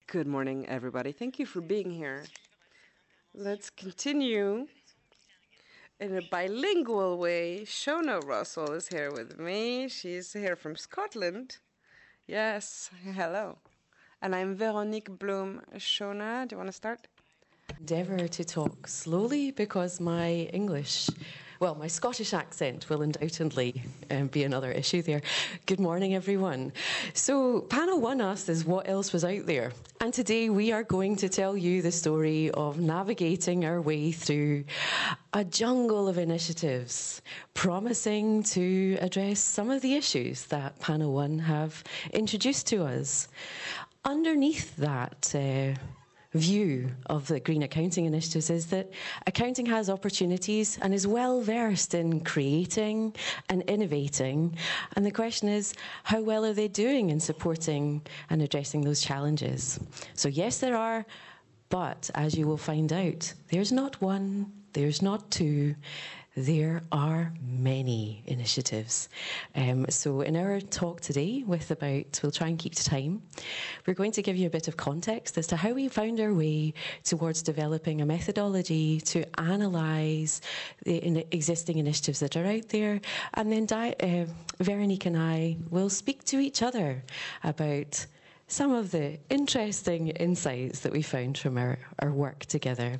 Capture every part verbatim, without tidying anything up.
Good morning, everybody. Thank you for being here. Let's continue in a bilingual way. Shona Russell is here with me. She's here from Scotland. Yes, hello. And I'm Veronique Bloom. Shona, do you want to start? Endeavour to talk slowly because my English, well, my Scottish accent will undoubtedly um, be another issue there. Good morning, everyone. So, panel one asked us what else was out there. And today we are going to tell you the story of navigating our way through a jungle of initiatives, promising to address some of the issues that panel one have introduced to us. Underneath that uh, view of the Green Accounting Initiatives is that accounting has opportunities and is well versed in creating and innovating. And the question is, how well are they doing in supporting and addressing those challenges? So yes, there are, but as you will find out, there's not one, there's not two, there are many initiatives. Um, so in our talk today, with about, we'll try and keep to time, we're going to give you a bit of context as to how we found our way towards developing a methodology to analyse the in existing initiatives that are out there. And then Di- uh, Veronique and I will speak to each other about some of the interesting insights that we found from our, our work together.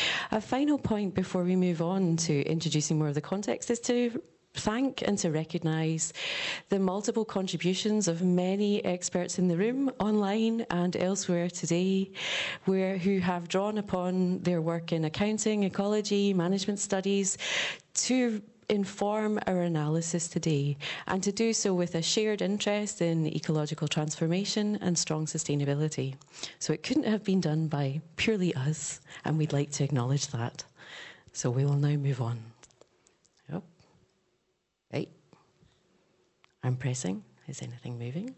A final point before we move on to introducing more of the context is to thank and to recognise the multiple contributions of many experts in the room, online and elsewhere today, where who have drawn upon their work in accounting, ecology, management studies to inform our analysis today, and to do so with a shared interest in ecological transformation and strong sustainability. So it couldn't have been done by purely us, and we'd like to acknowledge that. So we will now move on. Yep. Right. I'm pressing. Is anything moving?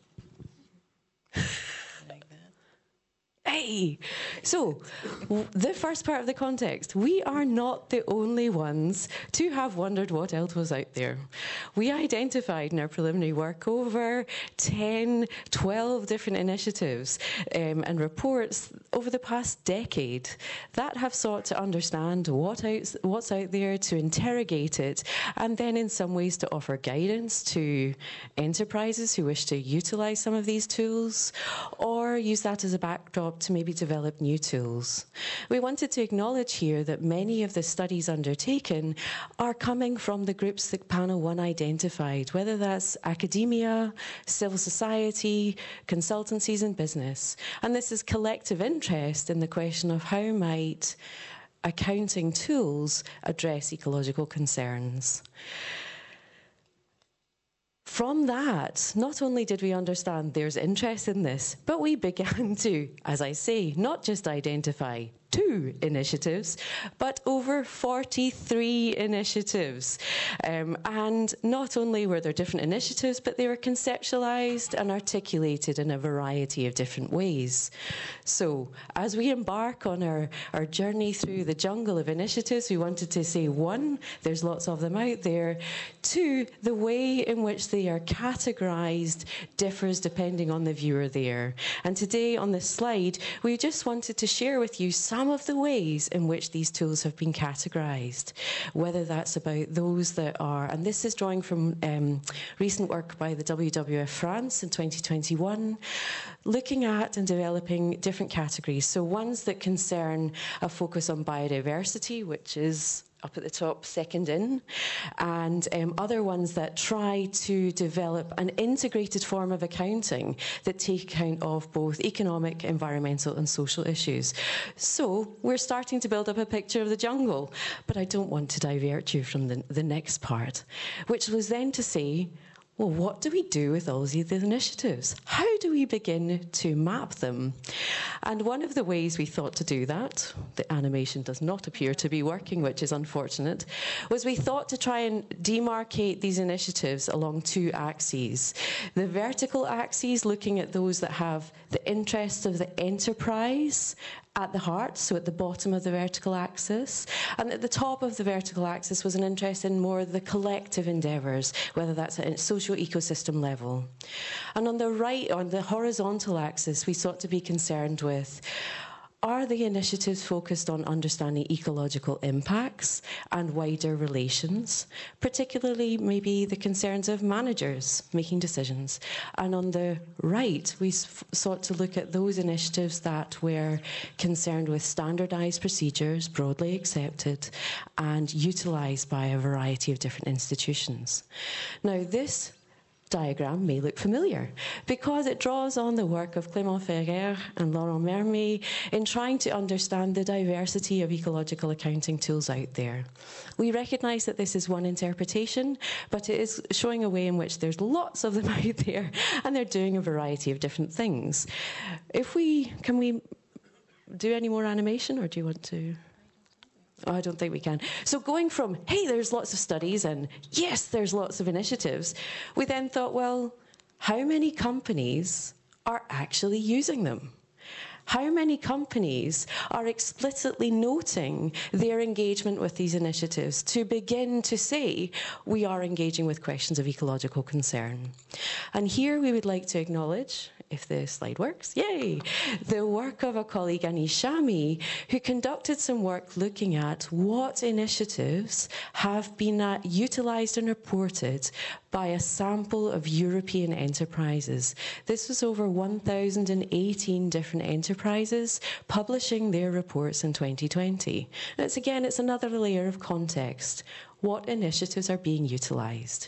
Like that. Hey! So, the first part of the context. We are not the only ones to have wondered what else was out there. We identified in our preliminary work over ten, twelve different initiatives um, and reports over the past decade that have sought to understand what out, what's out there, to interrogate it, and then in some ways to offer guidance to enterprises who wish to utilise some of these tools, or use that as a backdrop to maybe develop new tools. We wanted to acknowledge here that many of the studies undertaken are coming from the groups that panel one identified, whether that's academia, civil society, consultancies and business. And this is collective interest in the question of how might accounting tools address ecological concerns. From that, not only did we understand there's interest in this, but we began to, as I say, not just identify two initiatives, but over forty-three initiatives. Um, and not only were there different initiatives, but they were conceptualised and articulated in a variety of different ways. So, as we embark on our, our journey through the jungle of initiatives, we wanted to say, one, there's lots of them out there. Two, the way in which they are categorised differs depending on the viewer there. And today on this slide, we just wanted to share with you some of the ways in which these tools have been categorised, whether that's about those that are, and this is drawing from um, recent work by the W W F France in twenty twenty-one, looking at and developing different categories. So ones that concern a focus on biodiversity, which is up at the top, second in, and um, other ones that try to develop an integrated form of accounting that take account of both economic, environmental and social issues. So we're starting to build up a picture of the jungle, but I don't want to divert you from the, the next part, which was then to say, well, what do we do with all these initiatives? How do we begin to map them? And one of the ways we thought to do that, the animation does not appear to be working, which is unfortunate, was we thought to try and demarcate these initiatives along two axes. The vertical axes, looking at those that have the interests of the enterprise at the heart, so at the bottom of the vertical axis. And at the top of the vertical axis was an interest in more the collective endeavours, whether that's at social socio-ecosystem level. And on the right, on the horizontal axis, we sought to be concerned with, are the initiatives focused on understanding ecological impacts and wider relations, particularly maybe the concerns of managers making decisions? And on the right, we sought to look at those initiatives that were concerned with standardized procedures, broadly accepted, and utilized by a variety of different institutions. Now, this diagram may look familiar because it draws on the work of Clément Ferrer and Laurent Mermet in trying to understand the diversity of ecological accounting tools out there. We recognise that this is one interpretation, but it is showing a way in which there's lots of them out there and they're doing a variety of different things. If we, can we do any more animation, or do you want to? Oh, I don't think we can. So going from, hey, there's lots of studies and yes, there's lots of initiatives, we then thought, well, how many companies are actually using them? How many companies are explicitly noting their engagement with these initiatives to begin to say, we are engaging with questions of ecological concern? And here we would like to acknowledge, if the slide works, yay, the work of a colleague, Anish Shami, who conducted some work looking at what initiatives have been uh, utilised and reported by a sample of European enterprises. This was over one thousand eighteen different enterprises publishing their reports in twenty twenty. And it's again, it's another layer of context. What initiatives are being utilised?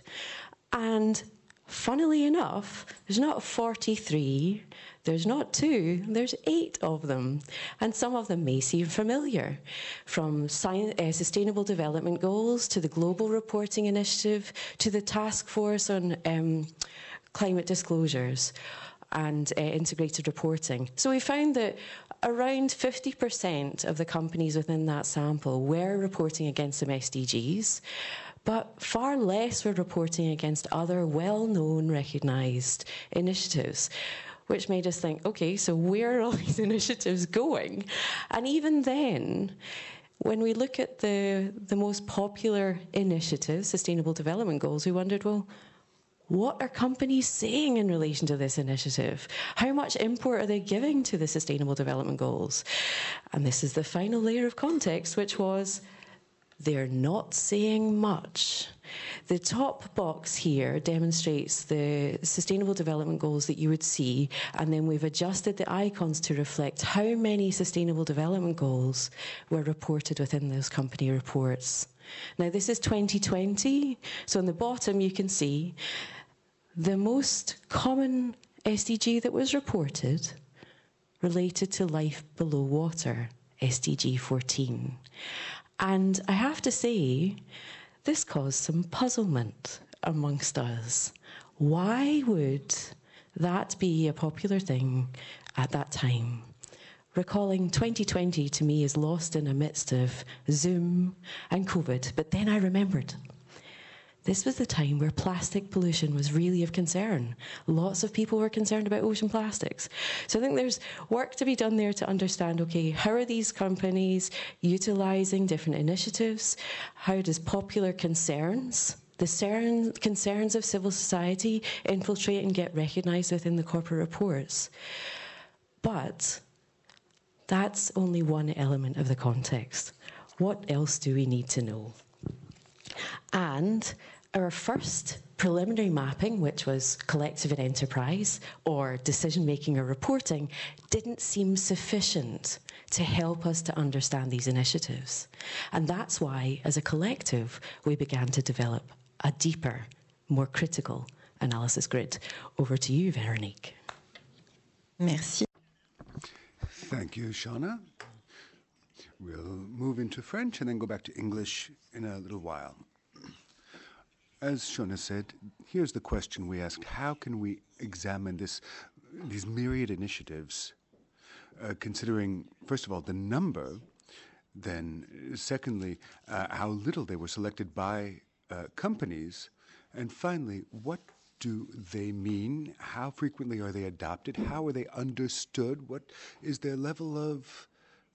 And funnily enough, there's not forty-three, there's not two, there's eight of them. And some of them may seem familiar, from science, uh, Sustainable Development Goals to the Global Reporting Initiative to the Task Force on um, Climate Disclosures and uh, Integrated Reporting. So we found that around fifty percent of the companies within that sample were reporting against some S D Gs, but far less were reporting against other well-known, recognised initiatives, which made us think, okay, so where are all these initiatives going? And even then, when we look at the, the most popular initiatives, Sustainable Development Goals, we wondered, well, what are companies saying in relation to this initiative? How much import are they giving to the Sustainable Development Goals? And this is the final layer of context, which was, they're not saying much. The top box here demonstrates the Sustainable Development Goals that you would see, and then we've adjusted the icons to reflect how many Sustainable Development Goals were reported within those company reports. Now, this is twenty twenty, so on the bottom you can see the most common S D G that was reported related to life below water, S D G fourteen. And I have to say, this caused some puzzlement amongst us. Why would that be a popular thing at that time? Recalling twenty twenty to me is lost in a midst of Zoom and COVID, but then I remembered. This was the time where plastic pollution was really of concern. Lots of people were concerned about ocean plastics. So I think there's work to be done there to understand, okay, how are these companies utilising different initiatives? How does popular concerns, the cern, concerns of civil society, infiltrate and get recognised within the corporate reports? But that's only one element of the context. What else do we need to know? And our first preliminary mapping, which was collective and enterprise, or decision-making or reporting, didn't seem sufficient to help us to understand these initiatives. And that's why, as a collective, we began to develop a deeper, more critical analysis grid. Over to you, Veronique. Merci. Thank you, Shauna. We'll move into French and then go back to English in a little while. As Shauna said, here's the question we asked: how can we examine this, these myriad initiatives, uh, considering, first of all, the number, then secondly, uh, how little they were selected by uh, companies, and finally, what do they mean? How frequently are they adopted? How are they understood? What is their level of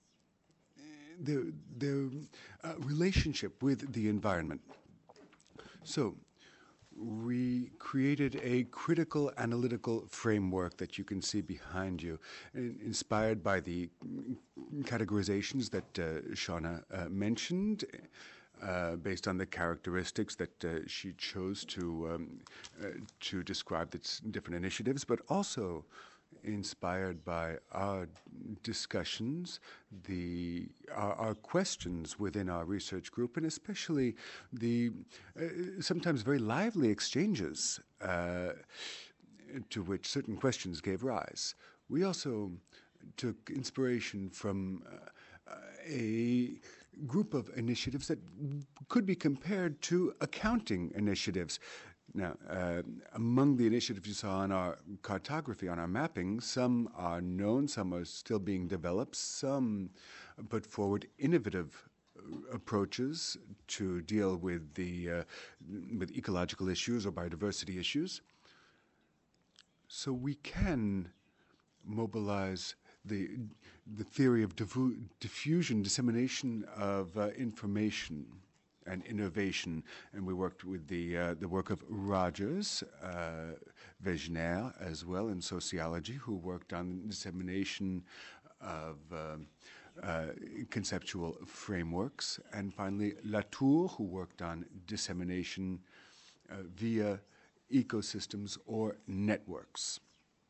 their, their uh, relationship with the environment? So we created a critical analytical framework that you can see behind you, in- inspired by the categorizations that uh, Shauna uh, mentioned, uh, based on the characteristics that uh, she chose to um, uh, to describe its different initiatives, but also inspired by our discussions, the our, our questions within our research group, and especially the uh, sometimes very lively exchanges uh, to which certain questions gave rise. We also took inspiration from uh, a group of initiatives that could be compared to accounting initiatives. Now, uh, among the initiatives you saw on our cartography, on our mapping, some are known, some are still being developed, some put forward innovative approaches to deal with the uh, with ecological issues or biodiversity issues. So we can mobilize the the theory of diffu- diffusion, dissemination of uh, information and innovation, and we worked with the uh, the work of Rogers, uh, Wegener as well in sociology, who worked on dissemination of um, uh, conceptual frameworks, and finally Latour, who worked on dissemination uh, via ecosystems or networks.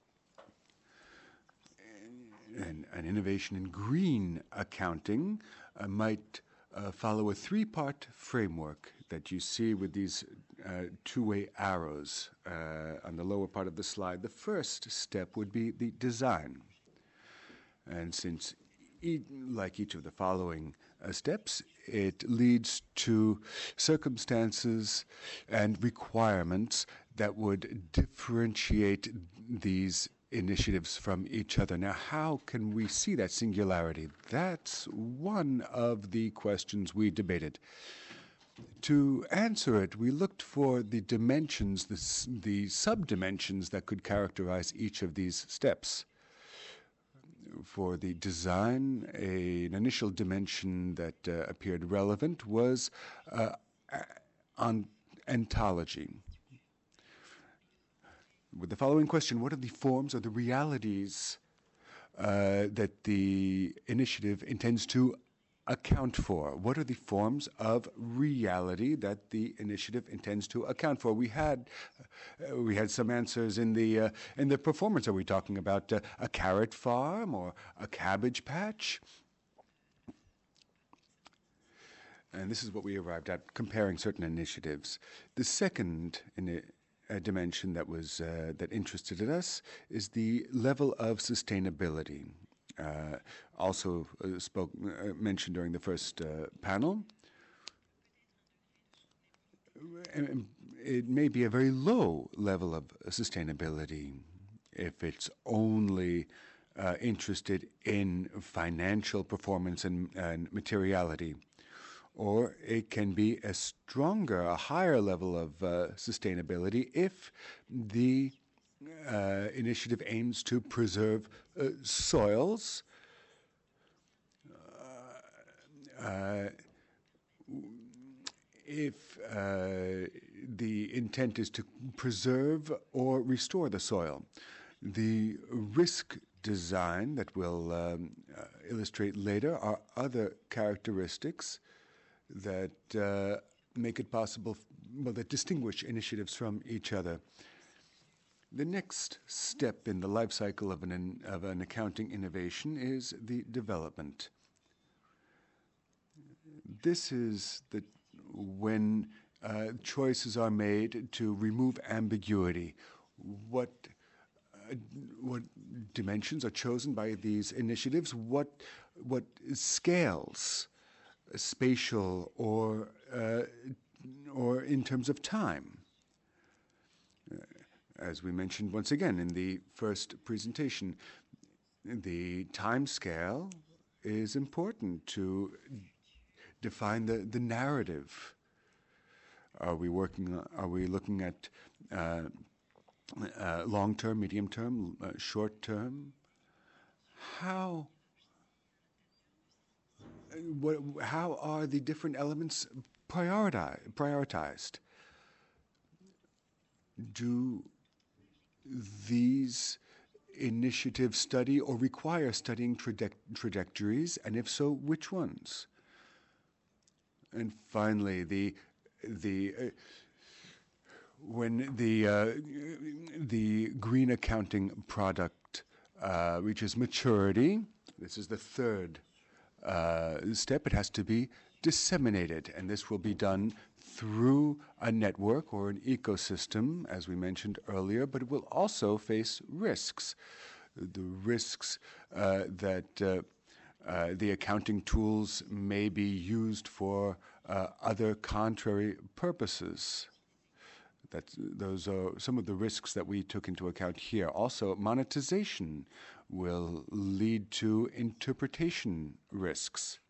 And an innovation in green accounting uh, might uh, follow a three-part framework that you see with these uh, two-way arrows uh, on the lower part of the slide. The first step would be the design. And since, e- like each of the following uh, steps, it leads to circumstances and requirements that would differentiate these initiatives from each other. Now, how can we see that singularity? That's one of the questions we debated. To answer it, we looked for the dimensions, the, s- the subdimensions that could characterize each of these steps. For the design, a, an initial dimension that uh, appeared relevant was uh, on ontology. With the following question, what are the forms or the realities uh, that the initiative intends to account for? What are the forms of reality that the initiative intends to account for? We had uh, we had some answers in the uh, in the performance. Are we talking about uh, a carrot farm or a cabbage patch? And this is what we arrived at, comparing certain initiatives. The second in a dimension that was uh, that interested us is the level of sustainability. Uh, also uh, spoke uh, mentioned during the first uh, panel. It may be a very low level of sustainability if it's only uh, interested in financial performance and, and materiality. Or it can be a stronger, a higher level of uh, sustainability if the uh, initiative aims to preserve uh, soils, uh, uh, if uh, the intent is to preserve or restore the soil. The risk design that we'll um, uh, illustrate later are other characteristics that uh, make it possible, well, that distinguish initiatives from each other. The next step in the life cycle of an, of an accounting innovation is the development. This is the, when uh, choices are made to remove ambiguity. What, uh, what dimensions are chosen by these initiatives? What, what scales, spatial or uh, or in terms of time. Uh, as we mentioned once again in the first presentation, the time scale is important to define the, the narrative. Are we working? Are we looking at uh, uh, long-term, medium-term, uh, short-term? How? What, how are the different elements prioritize, prioritized? do these initiatives study or require studying traje- trajectories, and if so, which ones? And finally, the the uh, when the uh, the green accounting product uh, reaches maturity, this is the third uh, step. It has to be disseminated, and this will be done through a network or an ecosystem, as we mentioned earlier, but it will also face risks. The risks uh, that uh, uh, the accounting tools may be used for uh, other contrary purposes. That's, those are some of the risks that we took into account here. Also, monetization will lead to interpretation risks.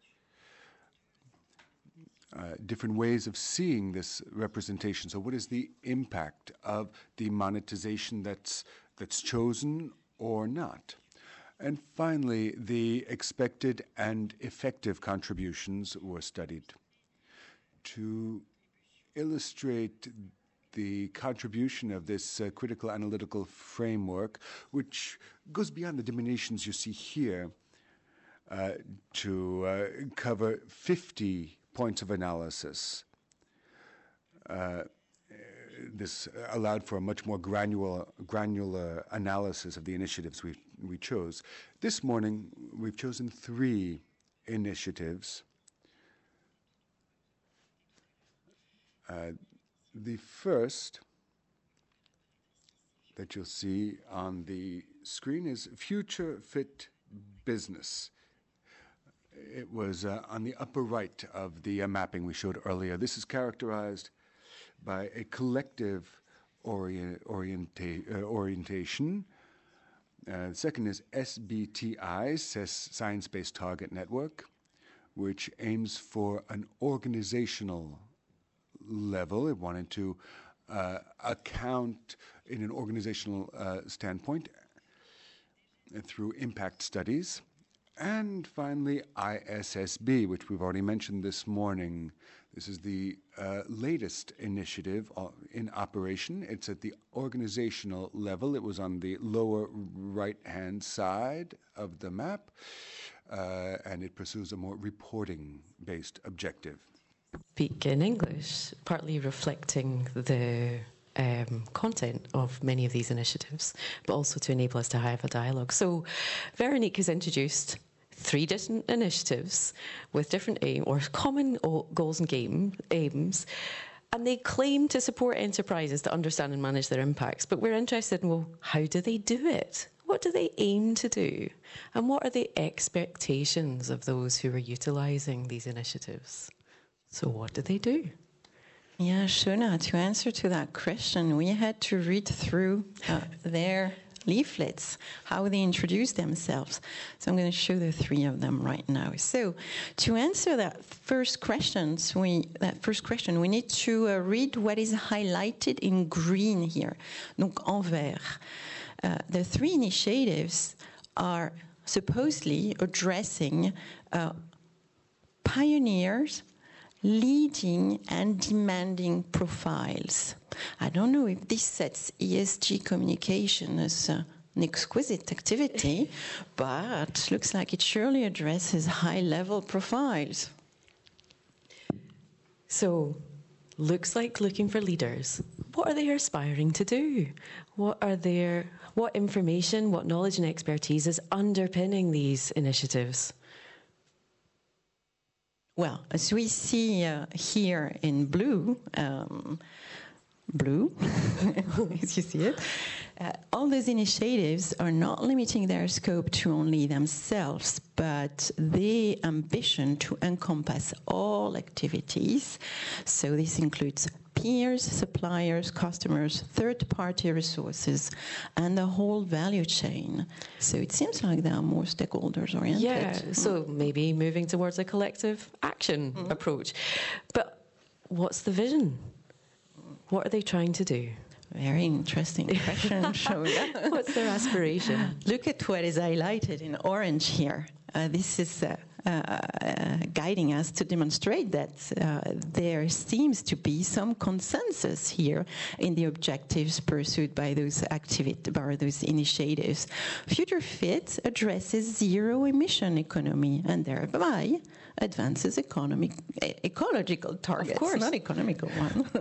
Uh, different ways of seeing this representation. So what is the impact of the monetization that's that's chosen or not? And finally, the expected and effective contributions were studied. To illustrate the contribution of this uh, critical analytical framework, which goes beyond the diminutions you see here, uh, to uh, cover fifty points of analysis. Uh, this allowed for a much more granular, granular analysis of the initiatives we, we chose. This morning, we've chosen three initiatives. Uh, the first that you'll see on the screen is Future Fit Business. It was uh, on the upper right of the uh, mapping we showed earlier. This is characterized by a collective orient, orienta- uh, orientation. Uh, the second is S B T I, Science-Based Target Network, which aims for an organizational level. It wanted to uh, account in an organizational uh, standpoint uh, through impact studies. And finally, I S S B, which we've already mentioned this morning. This is the uh, latest initiative uh, in operation. It's at the organizational level. It was on the lower right-hand side of the map, uh, and it pursues a more reporting-based objective. Speak in English, partly reflecting the Um, content of many of these initiatives, but also to enable us to have a dialogue. So Veronique has introduced three different initiatives with different aim or common goals and game, aims, and they claim to support enterprises to understand and manage their impacts. But we're interested in, well, how do they do it? What do they aim to do? And what are the expectations of those who are utilising these initiatives? So what do they do? Yeah, Shona, to answer to that question, we had to read through uh, their leaflets, how they introduce themselves. So I'm going to show the three of them right now. So to answer that first question, we, that first question, we need to uh, read what is highlighted in green here, donc en vert. Uh, the three initiatives are supposedly addressing uh, pioneers, leading and demanding profiles. I don't know if this sets E S G communication as uh, an exquisite activity, but looks like it surely addresses high-level profiles. So, looks like looking for leaders. What are they aspiring to do? What are their, what information, what knowledge and expertise is underpinning these initiatives? Well, as we see uh, here in blue, um, blue, as you see it, uh, all those initiatives are not limiting their scope to only themselves, but the ambition to encompass all activities. So this includes peers, suppliers, customers, third-party resources, and the whole value chain. So it seems like they are more stakeholders-oriented. Yeah, so maybe moving towards a collective action mm-hmm. approach. But what's the vision? What are they trying to do? Very interesting question, Shona. What's their aspiration? Look at what is highlighted in orange here. Uh, this is uh, uh, guiding us to demonstrate that uh, there seems to be some consensus here in the objectives pursued by those activities, by those initiatives. Future Fit addresses zero emission economy and thereby advances economic, e- ecological targets, Of course. not economical one.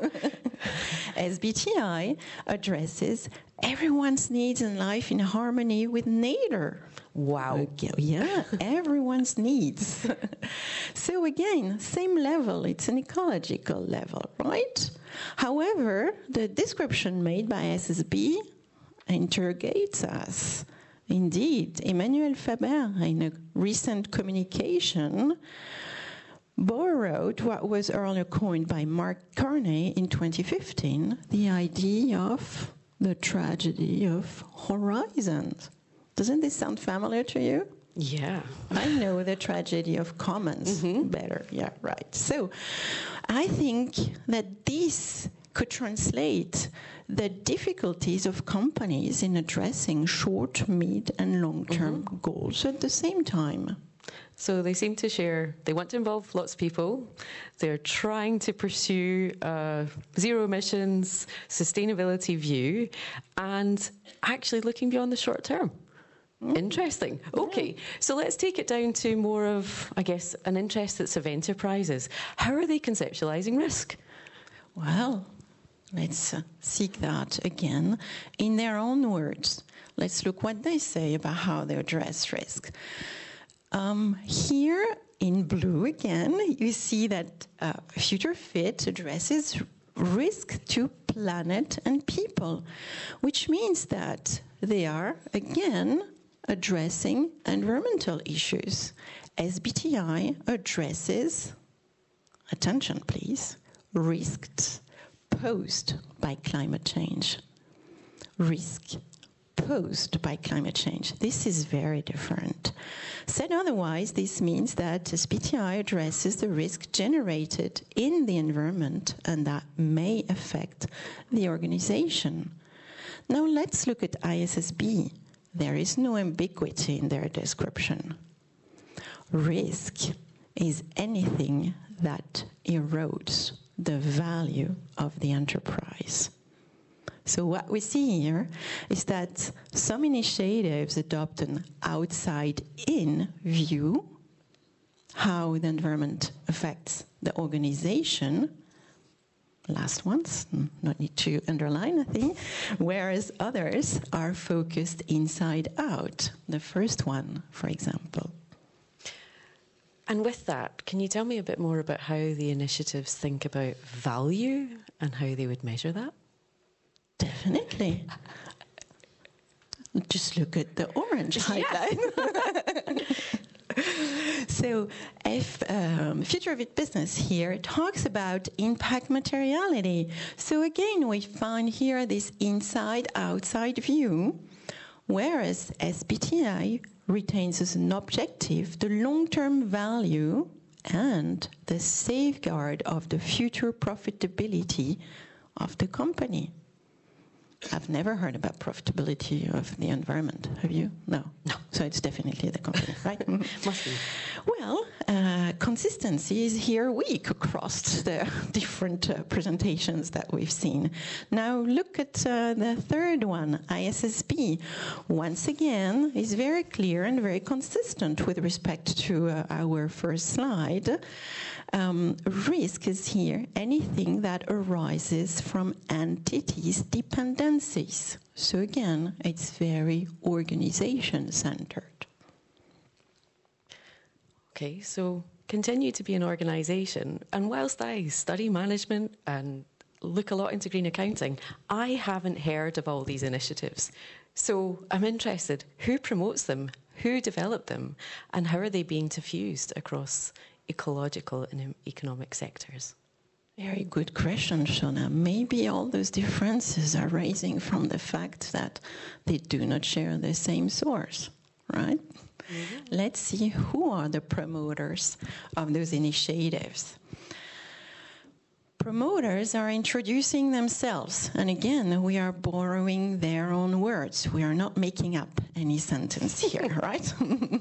S B T I addresses everyone's needs in life in harmony with nature. Wow. Okay, yeah, everyone's needs. So again, same level, it's an ecological level, right? However, the description made by S S B interrogates us. Indeed, Emmanuel Faber, in a recent communication, borrowed what was earlier coined by Mark Carney in twenty fifteen, the idea of the tragedy of horizons. Doesn't this sound familiar to you? Yeah. I know the tragedy of commons Mm-hmm. better. Yeah, right. So I think that this could translate the difficulties of companies in addressing short, mid, and long-term Mm-hmm. goals at the same time. So they seem to share, they want to involve lots of people. They're trying to pursue a zero emissions, sustainability view, and actually looking beyond the short term. Mm. Interesting. Okay, yeah. So let's take it down to more of, I guess, an interest that's of enterprises. How are they conceptualizing risk? Well, let's uh, seek that again in their own words. Let's look what they say about how they address risk. Um, here in blue again, you see that uh, Future Fit addresses risk to planet and people, which means that they are again addressing environmental issues. S B T I addresses, attention please, risks posed by climate change. Risk posed by climate change. This is very different. Said otherwise, this means that S B T I addresses the risk generated in the environment and that may affect the organization. Now let's look at I S S B. There is no ambiguity in their description. Risk is anything that erodes the value of the enterprise. So what we see here is that some initiatives adopt an outside-in view, how the environment affects the organization. Last ones, not need to underline a thing, whereas others are focused inside out. The first one, for example. And with that, can you tell me a bit more about how the initiatives think about value and how they would measure that? Definitely. Just look at the orange highlight. So if um, Future Fit Business here talks about impact materiality. So again, we find here this inside-outside view, whereas S B T I retains as an objective the long-term value and the safeguard of the future profitability of the company. I've never heard about profitability of the environment. Have you? No. No. So it's definitely the company, right? Must be. Well, uh, consistency is here weak across the different uh, presentations that we've seen. Now look at uh, the third one, I S S B. Once again, is very clear and very consistent with respect to uh, our first slide. Um, risk is here anything that arises from entities' dependencies. So again, it's very organization-centered. Okay, so continue to be an organisation. And whilst I study management and look a lot into green accounting, I haven't heard of all these initiatives. So I'm interested, who promotes them, who developed them, and how are they being diffused across ecological and economic sectors? Very good question, Shona. Maybe all those differences are arising from the fact that they do not share the same source, right? Mm-hmm. Let's see who are the promoters of those initiatives. promoters are introducing themselves. And again, we are borrowing their own words. We are not making up any sentence here, right?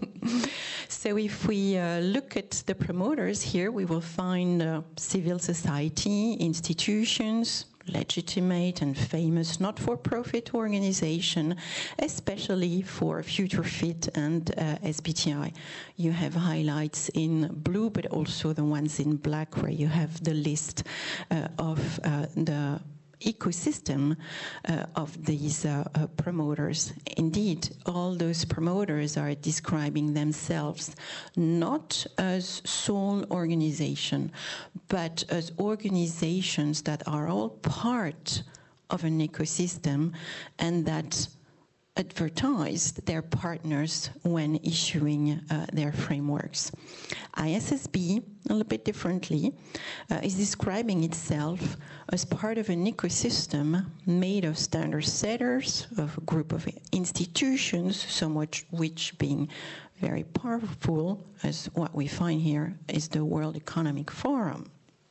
So if we uh, look at the promoters here, we will find uh, civil society, institutions, legitimate and famous not-for-profit organization, especially for FutureFit and uh, S B T I. You have highlights in blue, but also the ones in black, where you have the list uh, of uh, the ecosystem uh, of these uh, uh, promoters. Indeed, all those promoters are describing themselves not as sole organization, but as organizations that are all part of an ecosystem and that advertise their partners when issuing uh, their frameworks. I S S B, a little bit differently, uh, is describing itself as part of an ecosystem made of standard setters, of a group of institutions, some of which being very powerful, as what we find here is the World Economic Forum.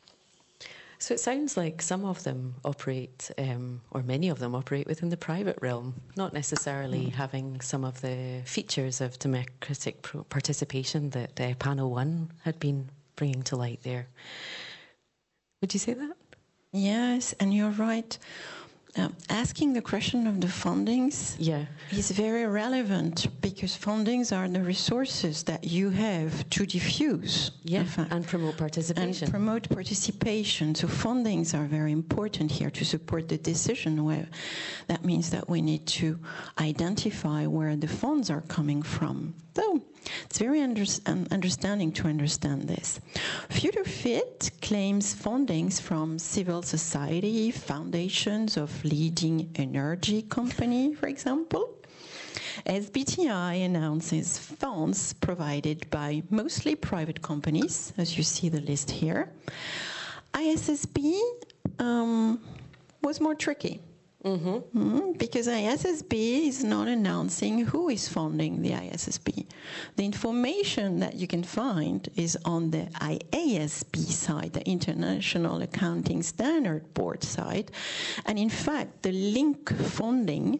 So it sounds like some of them operate, um, or many of them operate within the private realm, not necessarily mm. having some of the features of democratic participation that uh, Panel One had been bringing to light there. Would you say that? Yes, and you're right. Uh, asking the question of the fundings yeah. is very relevant, because fundings are the resources that you have to diffuse yeah, and promote participation. And promote participation. So fundings are very important here to support the decision. Where that means that we need to identify where the funds are coming from. So it's very under, um, understanding to understand this. FutureFit claims fundings from civil society, foundations of leading energy company, for example. S B T I announces funds provided by mostly private companies, as you see the list here. I S S B um, was more tricky. Mm-hmm. Mm-hmm. Because I S S B is not announcing who is funding the I S S B. The information that you can find is on the I A S B side, the International Accounting Standard Board side. And in fact, the link funding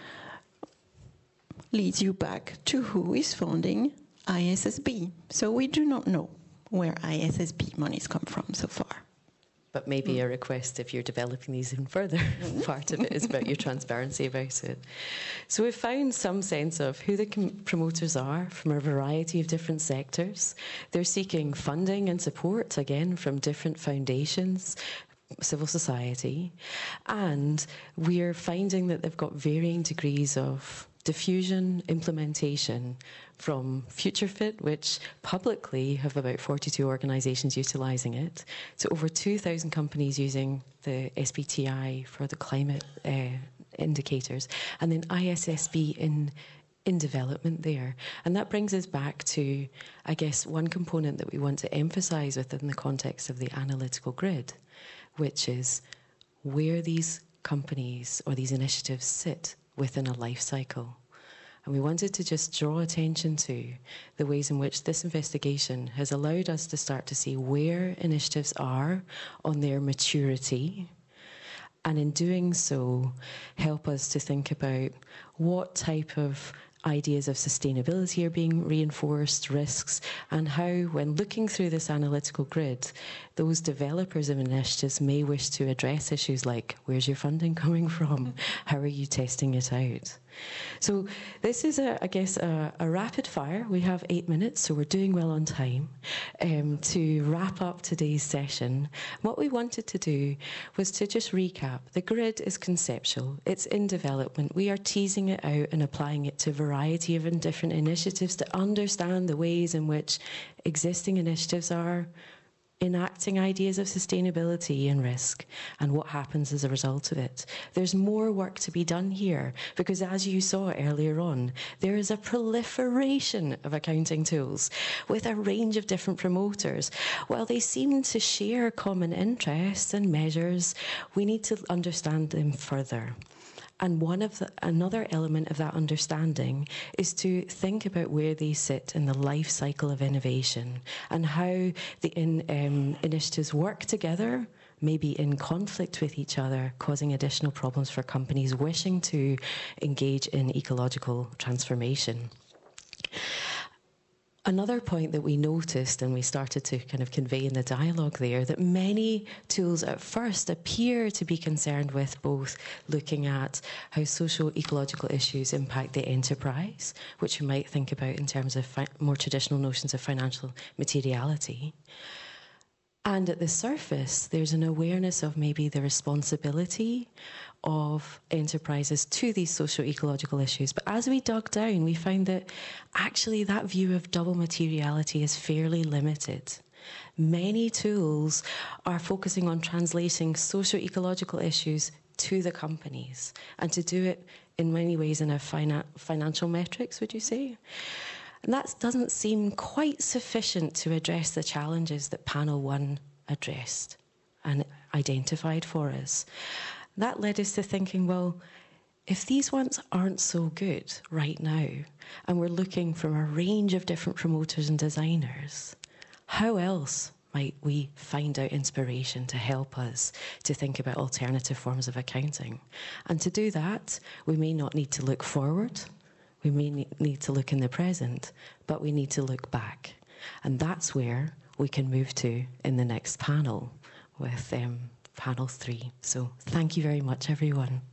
leads you back to who is funding I S S B. So we do not know where I S S B monies come from so far. But maybe a request, if you're developing these even further, part of it is about your transparency about it. So we've found some sense of who the com- promoters are from a variety of different sectors. They're seeking funding and support, again, from different foundations, civil society, and we're finding that they've got varying degrees of diffusion, implementation, from FutureFit, which publicly have about forty-two organisations utilising it, to over two thousand companies using the S B T I for the climate uh, indicators, and then I S S B in in development there. And that brings us back to, I guess, one component that we want to emphasise within the context of the analytical grid, which is where these companies or these initiatives sit within a life cycle. And we wanted to just draw attention to the ways in which this investigation has allowed us to start to see where initiatives are on their maturity, and in doing so, help us to think about what type of ideas of sustainability are being reinforced, risks, and how, when looking through this analytical grid, those developers of initiatives may wish to address issues like, where's your funding coming from? How are you testing it out? So this is, a, I guess, a, a rapid fire. We have eight minutes, so we're doing well on time, um, to wrap up today's session. What we wanted to do was to just recap. The grid is conceptual. It's in development. We are teasing it out and applying it to a variety of different initiatives to understand the ways in which existing initiatives are enacting ideas of sustainability and risk, and what happens as a result of it. There's more work to be done here, because as you saw earlier on, there is a proliferation of accounting tools with a range of different promoters. While they seem to share common interests and measures, we need to understand them further. And one of the, another element of that understanding is to think about where they sit in the life cycle of innovation, and how the in, um, initiatives work together, maybe in conflict with each other, causing additional problems for companies wishing to engage in ecological transformation. Another point that we noticed, and we started to kind of convey in the dialogue there, that many tools at first appear to be concerned with both looking at how socio-ecological issues impact the enterprise, which you might think about in terms of fi- more traditional notions of financial materiality. And at the surface, there's an awareness of maybe the responsibility of enterprises to these socio-ecological issues. But as we dug down, we found that actually that view of double materiality is fairly limited. Many tools are focusing on translating socio-ecological issues to the companies, and to do it in many ways in a fina- financial metrics, would you say? And that doesn't seem quite sufficient to address the challenges that Panel One addressed and identified for us. That led us to thinking, well, if these ones aren't so good right now, and we're looking from a range of different promoters and designers, how else might we find out inspiration to help us to think about alternative forms of accounting? And to do that, we may not need to look forward. We may need to look in the present, but we need to look back. And that's where we can move to in the next panel with um, panel three. So thank you very much, everyone.